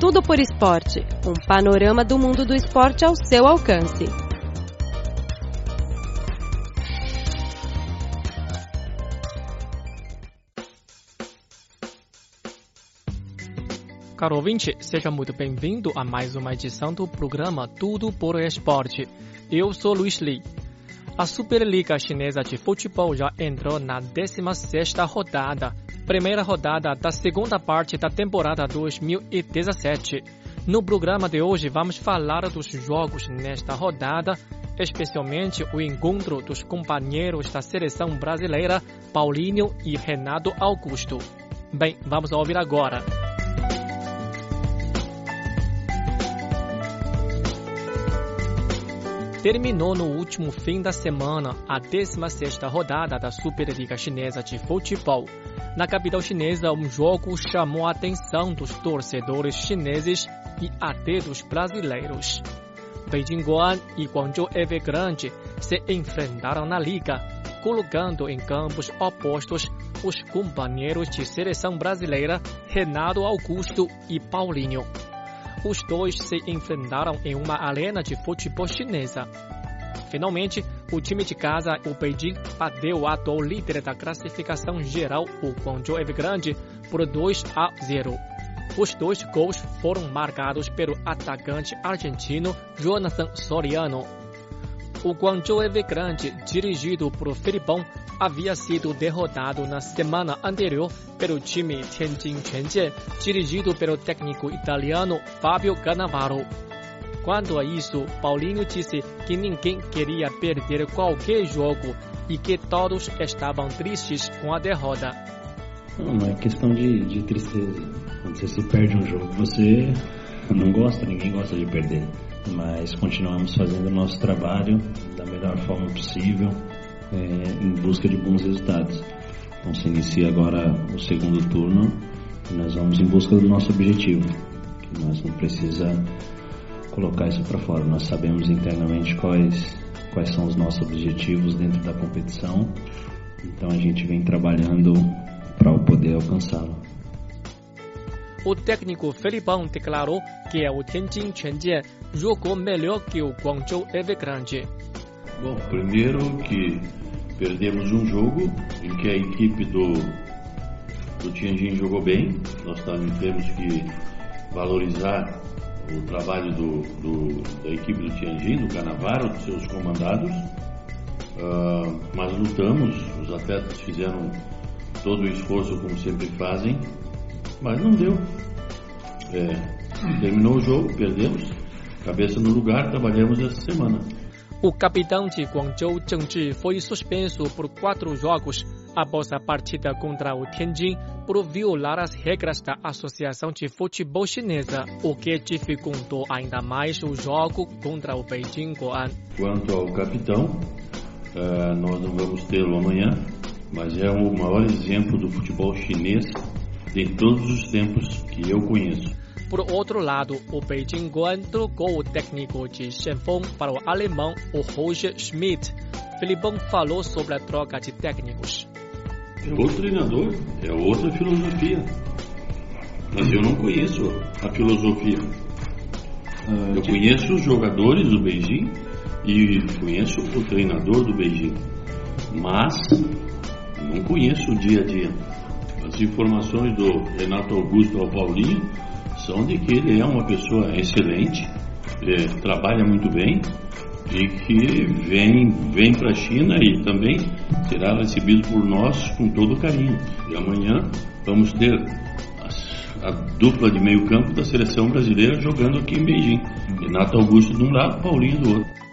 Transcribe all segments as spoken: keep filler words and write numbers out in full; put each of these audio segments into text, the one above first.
Tudo por Esporte, um panorama do mundo do esporte ao seu alcance. Caro ouvinte, seja muito bem-vindo a mais uma edição do programa Tudo por Esporte. Eu sou Luiz Li. A Superliga Chinesa de Futebol já entrou na décima sexta rodada, primeira rodada da segunda parte da temporada dois mil e dezessete. No programa de hoje vamos falar dos jogos nesta rodada, especialmente o encontro dos companheiros da seleção brasileira, Paulinho e Renato Augusto. Bem, vamos ouvir agora. Terminou no último fim da semana a décima sexta rodada da Superliga Chinesa de Futebol. Na capital chinesa, um jogo chamou a atenção dos torcedores chineses e até dos brasileiros. Beijing Guoan e Guangzhou Evergrande se enfrentaram na liga, colocando em campos opostos os companheiros de seleção brasileira Renato Augusto e Paulinho. Os dois se enfrentaram em uma arena de futebol chinesa. Finalmente, o time de casa, o Beijing, bateu o atual líder da classificação geral, o Guangzhou Evergrande, por dois a zero. Os dois gols foram marcados pelo atacante argentino Jonathan Soriano. O Guangzhou Evergrande, dirigido por Felipão, havia sido derrotado na semana anterior pelo time Tianjin Quanjian, dirigido pelo técnico italiano Fabio Cannavaro. Quanto a isso, Paulinho disse que ninguém queria perder qualquer jogo e que todos estavam tristes com a derrota. Não, não é questão de, de tristeza. Quando você se perde um jogo, você não gosta, ninguém gosta de perder. Mas continuamos fazendo o nosso trabalho da melhor forma possível, é, em busca de bons resultados. Então se inicia agora o segundo turno e nós vamos em busca do nosso objetivo. Que nós não precisamos colocar isso para fora. Nós sabemos internamente quais, quais são os nossos objetivos dentro da competição. Então a gente vem trabalhando para poder alcançá-lo. O técnico Felipão declarou que o Tianjin Quanjian jogou melhor que o Guangzhou Evergrande. Bom, primeiro que perdemos um jogo em que a equipe do, do Tianjin jogou bem. Nós também temos que valorizar o trabalho do, do, da equipe do Tianjin, do Cannavaro, dos seus comandados. Uh, mas lutamos, os atletas fizeram todo o esforço como sempre fazem, mas não deu. É, terminou o jogo, perdemos, cabeça no lugar, trabalhamos essa semana. O capitão de Guangzhou, Zheng Zhi, foi suspenso por quatro jogos após a partida contra o Tianjin por violar as regras da Associação de Futebol Chinesa, o que dificultou ainda mais o jogo contra o Beijing Guoan. Quanto ao capitão, uh, nós não vamos tê-lo amanhã, mas é o maior exemplo do futebol chinês de todos os tempos que eu conheço. Por outro lado, o Beijing Guoan trocou o técnico de Shenfeng para o alemão, o Roger Schmidt. Felipão falou sobre a troca de técnicos. É outro treinador, é outra filosofia. Mas eu não conheço a filosofia. Eu conheço os jogadores do Beijing e conheço o treinador do Beijing. Mas não conheço o dia a dia. As informações do Renato Augusto ao Paulinho são de que ele é uma pessoa excelente, é, trabalha muito bem e que vem, vem para a China e também será recebido por nós com todo carinho. E amanhã vamos ter a, a dupla de meio campo da seleção brasileira jogando aqui em Beijing. Renato Augusto de um lado, Paulinho do outro.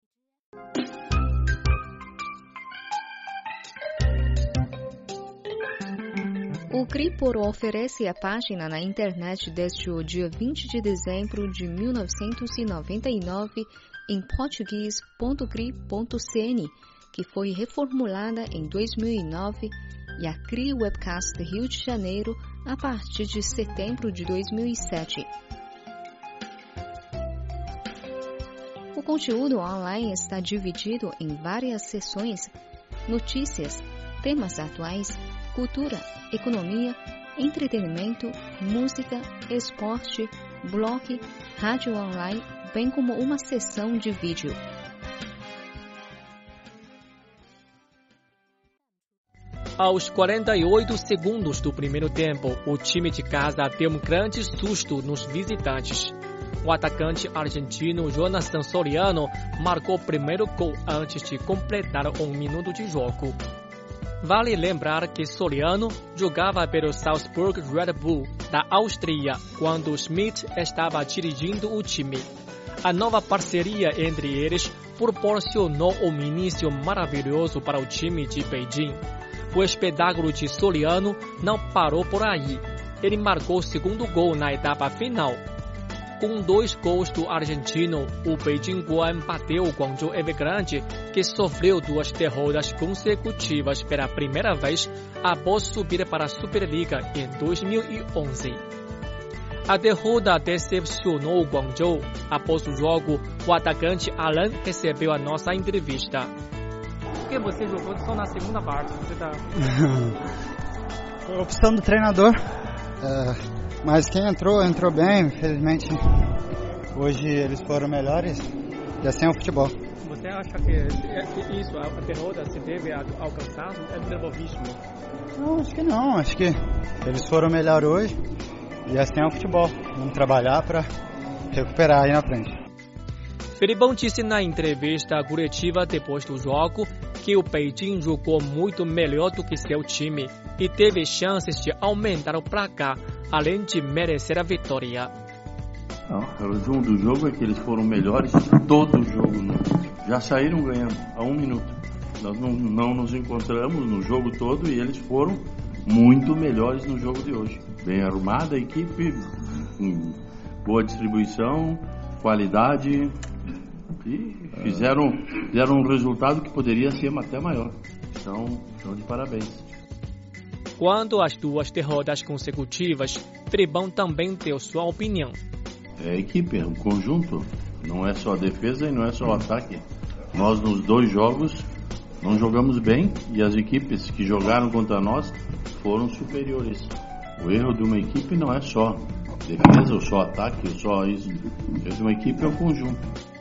O Cripor oferece a página na internet desde o dia vinte de dezembro de mil novecentos e noventa e nove em português ponto cri ponto cn, que foi reformulada em dois mil e nove, e a Cri Webcast Rio de Janeiro a partir de setembro de dois mil e sete. O conteúdo online está dividido em várias seções: notícias, temas atuais, cultura, economia, entretenimento, música, esporte, blog, rádio online, bem como uma sessão de vídeo. Aos quarenta e oito segundos do primeiro tempo, o time de casa deu um grande susto nos visitantes. O atacante argentino Jonathan Soriano marcou o primeiro gol antes de completar um minuto de jogo. Vale lembrar que Soriano jogava pelo Salzburg Red Bull da Áustria quando Schmidt estava dirigindo o time. A nova parceria entre eles proporcionou um início maravilhoso para o time de Beijing. O espetáculo de Soriano não parou por aí. Ele marcou o segundo gol na etapa final. Com dois gols do argentino, o Beijing Guoan bateu o Guangzhou Evergrande, que sofreu duas derrotas consecutivas pela primeira vez após subir para a Superliga em dois mil e onze. A derrota decepcionou o Guangzhou. Após o jogo, o atacante Alan recebeu a nossa entrevista. Por que você jogou só na segunda parte? Você tá... Foi a opção do treinador. É... Mas quem entrou, entrou bem, infelizmente hoje eles foram melhores e assim é o futebol. Você acha que isso, a derrota se deve ao cansaço, é nervosismo? Não, acho que não, acho que eles foram melhor hoje e assim é o futebol. Vamos trabalhar para recuperar aí na frente. Felipão disse na entrevista coletiva depois do jogo que o Beijing jogou muito melhor do que seu time e teve chances de aumentar o placar, além de merecer a vitória. Não, o resumo do jogo é que eles foram melhores todo o jogo. Né? Já saíram ganhando a um minuto. Nós não, não nos encontramos no jogo todo e eles foram muito melhores no jogo de hoje. Bem arrumada a equipe, boa distribuição, qualidade e fizeram, fizeram um resultado que poderia ser até maior. Então, estão de parabéns. Quanto às duas derrotas consecutivas, Felipão também deu sua opinião. É a equipe, é um conjunto, não é só a defesa e não é só o ataque. Nós nos dois jogos não jogamos bem e as equipes que jogaram contra nós foram superiores. O erro de uma equipe não é só defesa ou só ataque ou só isso. O erro de uma equipe é um conjunto.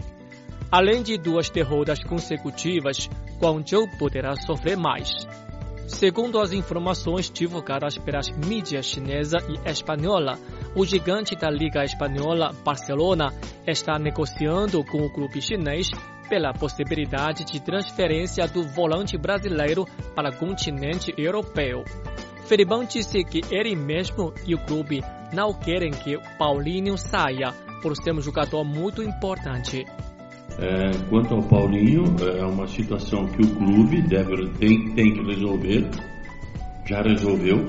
Além de duas derrotas consecutivas, Guangzhou poderá sofrer mais. Segundo as informações divulgadas pelas mídias chinesa e espanhola, o gigante da Liga Espanhola, Barcelona, está negociando com o clube chinês pela possibilidade de transferência do volante brasileiro para o continente europeu. Felipão disse que ele mesmo e o clube não querem que Paulinho saia, por ser um jogador muito importante. É, quanto ao Paulinho, é uma situação que o clube deve, tem, tem que resolver, já resolveu.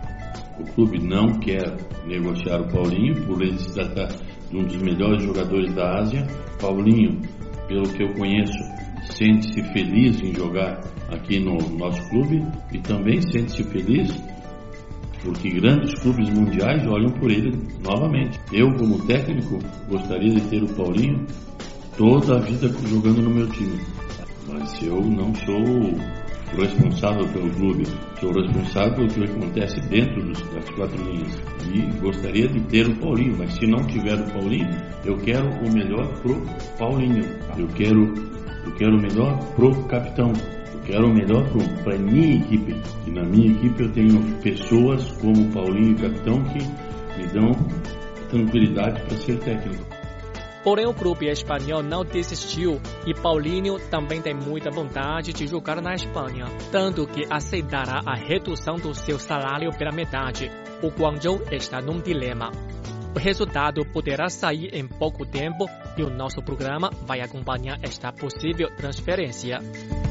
O clube não quer negociar o Paulinho, por ele se tratar de um dos melhores jogadores da Ásia. Paulinho, pelo que eu conheço, sente-se feliz em jogar aqui no nosso clube e também sente-se feliz porque grandes clubes mundiais olham por ele novamente. Eu, como técnico, gostaria de ter o Paulinho toda a vida jogando no meu time, mas eu não sou responsável pelo clube, sou responsável pelo que acontece dentro dos, das quatro linhas e gostaria de ter o Paulinho, mas se não tiver o Paulinho, eu quero o melhor pro Paulinho, eu quero, eu quero o melhor pro capitão, eu quero o melhor para a minha equipe, e na minha equipe eu tenho pessoas como o Paulinho e o capitão que me dão tranquilidade para ser técnico. Porém, o clube espanhol não desistiu e Paulinho também tem muita vontade de jogar na Espanha, tanto que aceitará a redução do seu salário pela metade. O Guangzhou está num dilema. O resultado poderá sair em pouco tempo e o nosso programa vai acompanhar esta possível transferência.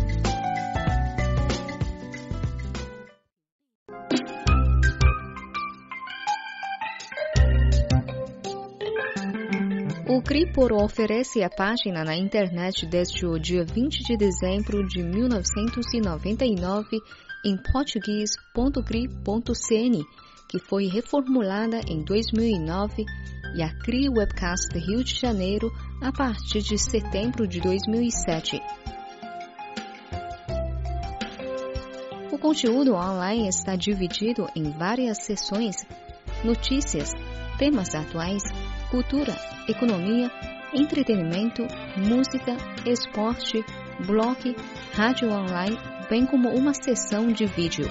O Cripor oferece a página na internet desde o dia vinte de dezembro de mil novecentos e noventa e nove em português ponto cri ponto cn, que foi reformulada em dois mil e nove, e a Cri Webcast Rio de Janeiro a partir de setembro de dois mil e sete. O conteúdo online está dividido em várias seções: notícias, temas atuais, cultura, economia, entretenimento, música, esporte, blog, rádio online, bem como uma sessão de vídeo.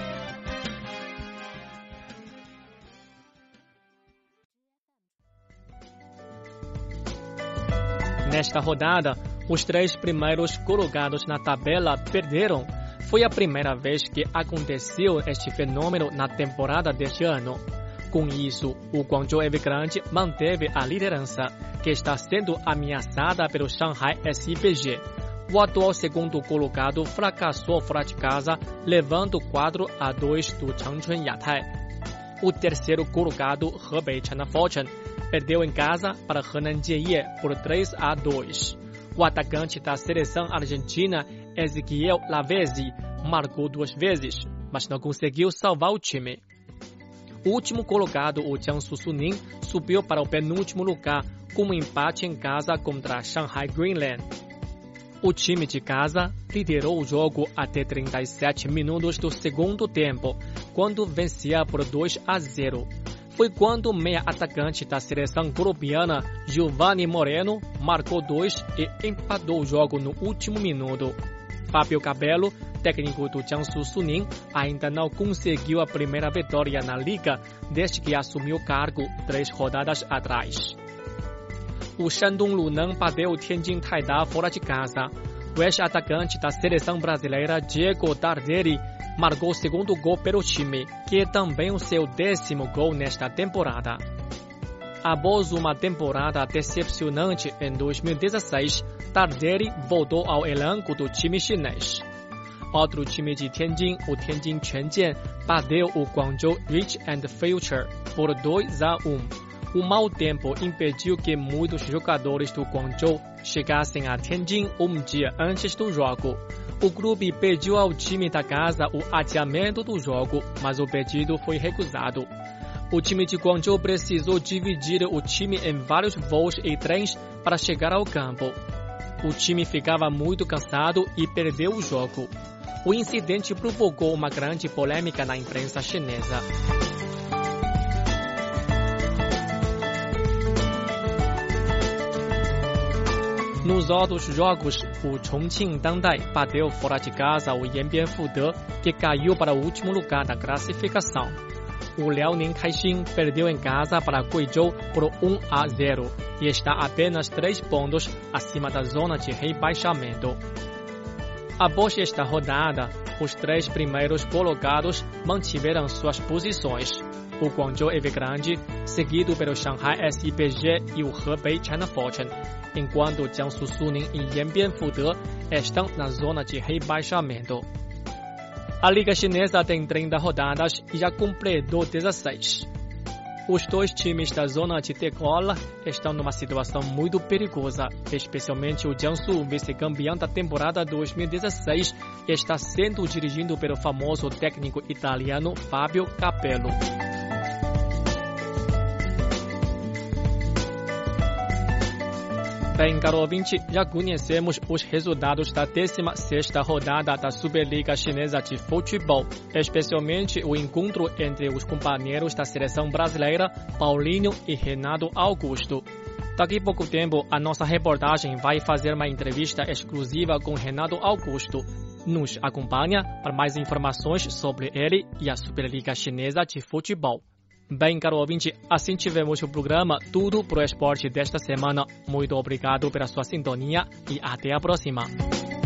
Nesta rodada, os três primeiros colocados na tabela perderam. Foi a primeira vez que aconteceu este fenômeno na temporada deste ano. Com isso, o Guangzhou Evergrande manteve a liderança, que está sendo ameaçada pelo Shanghai S I P G. O atual segundo colocado fracassou fora de casa, levando quatro a dois do Changchun Yatai. O terceiro colocado, Hebei China Fortune, perdeu em casa para Henan Jieye por três a dois. O atacante da seleção argentina, Ezequiel Lavezzi, marcou duas vezes, mas não conseguiu salvar o time. O último colocado, o Jiangsu Suning, subiu para o penúltimo lugar com um empate em casa contra Shanghai Greenland. O time de casa liderou o jogo até trinta e sete minutos do segundo tempo, quando vencia por dois a zero. Foi quando o meia atacante da seleção colombiana, Giovanni Moreno, marcou dois e empatou o jogo no último minuto. Fábio Capello, técnico do Jiangsu Suning, ainda não conseguiu a primeira vitória na liga desde que assumiu o cargo três rodadas atrás. O Shandong Luneng bateu o Tianjin Taida fora de casa. O ex-atacante da seleção brasileira, Diego Tardelli, marcou o segundo gol pelo time, que é também o seu décimo gol nesta temporada. Após uma temporada decepcionante em dois mil e dezesseis, Tardelli voltou ao elenco do time chinês. Outro time de Tianjin, o Tianjin Quanjian, bateu o Guangzhou Rich and Future por dois a um. O mau tempo impediu que muitos jogadores do Guangzhou chegassem a Tianjin um dia antes do jogo. O clube pediu ao time da casa o adiamento do jogo, mas o pedido foi recusado. O time de Guangzhou precisou dividir o time em vários voos e trens para chegar ao campo. O time ficava muito cansado e perdeu o jogo. O incidente provocou uma grande polêmica na imprensa chinesa. Nos outros jogos, o Chongqing Dandai bateu fora de casa o Yanbian Fude, que caiu para o último lugar da classificação. O Liaoning Caixin perdeu em casa para Guizhou por um a zero e está apenas três pontos acima da zona de rebaixamento. Após esta rodada, os três primeiros colocados mantiveram suas posições. O Guangzhou Evergrande, seguido pelo Shanghai S I P G e o Hebei China Fortune, enquanto o Jiangsu Suning e Yanbian Fude estão na zona de rebaixamento. A Liga Chinesa tem trinta rodadas e já completou dezesseis. Os dois times da zona de degola estão numa situação muito perigosa, especialmente o Jiangsu, vice-campeão da temporada dois mil e dezesseis, está sendo dirigido pelo famoso técnico italiano Fábio Capello. Bem, caro ouvinte, já conhecemos os resultados da décima sexta rodada da Superliga Chinesa de Futebol, especialmente o encontro entre os companheiros da seleção brasileira, Paulinho e Renato Augusto. Daqui a pouco tempo, a nossa reportagem vai fazer uma entrevista exclusiva com Renato Augusto. Nos acompanha para mais informações sobre ele e a Superliga Chinesa de Futebol. Bem, caro ouvinte, assim tivemos o programa Tudo pro Esporte desta semana. Muito obrigado pela sua sintonia e até a próxima.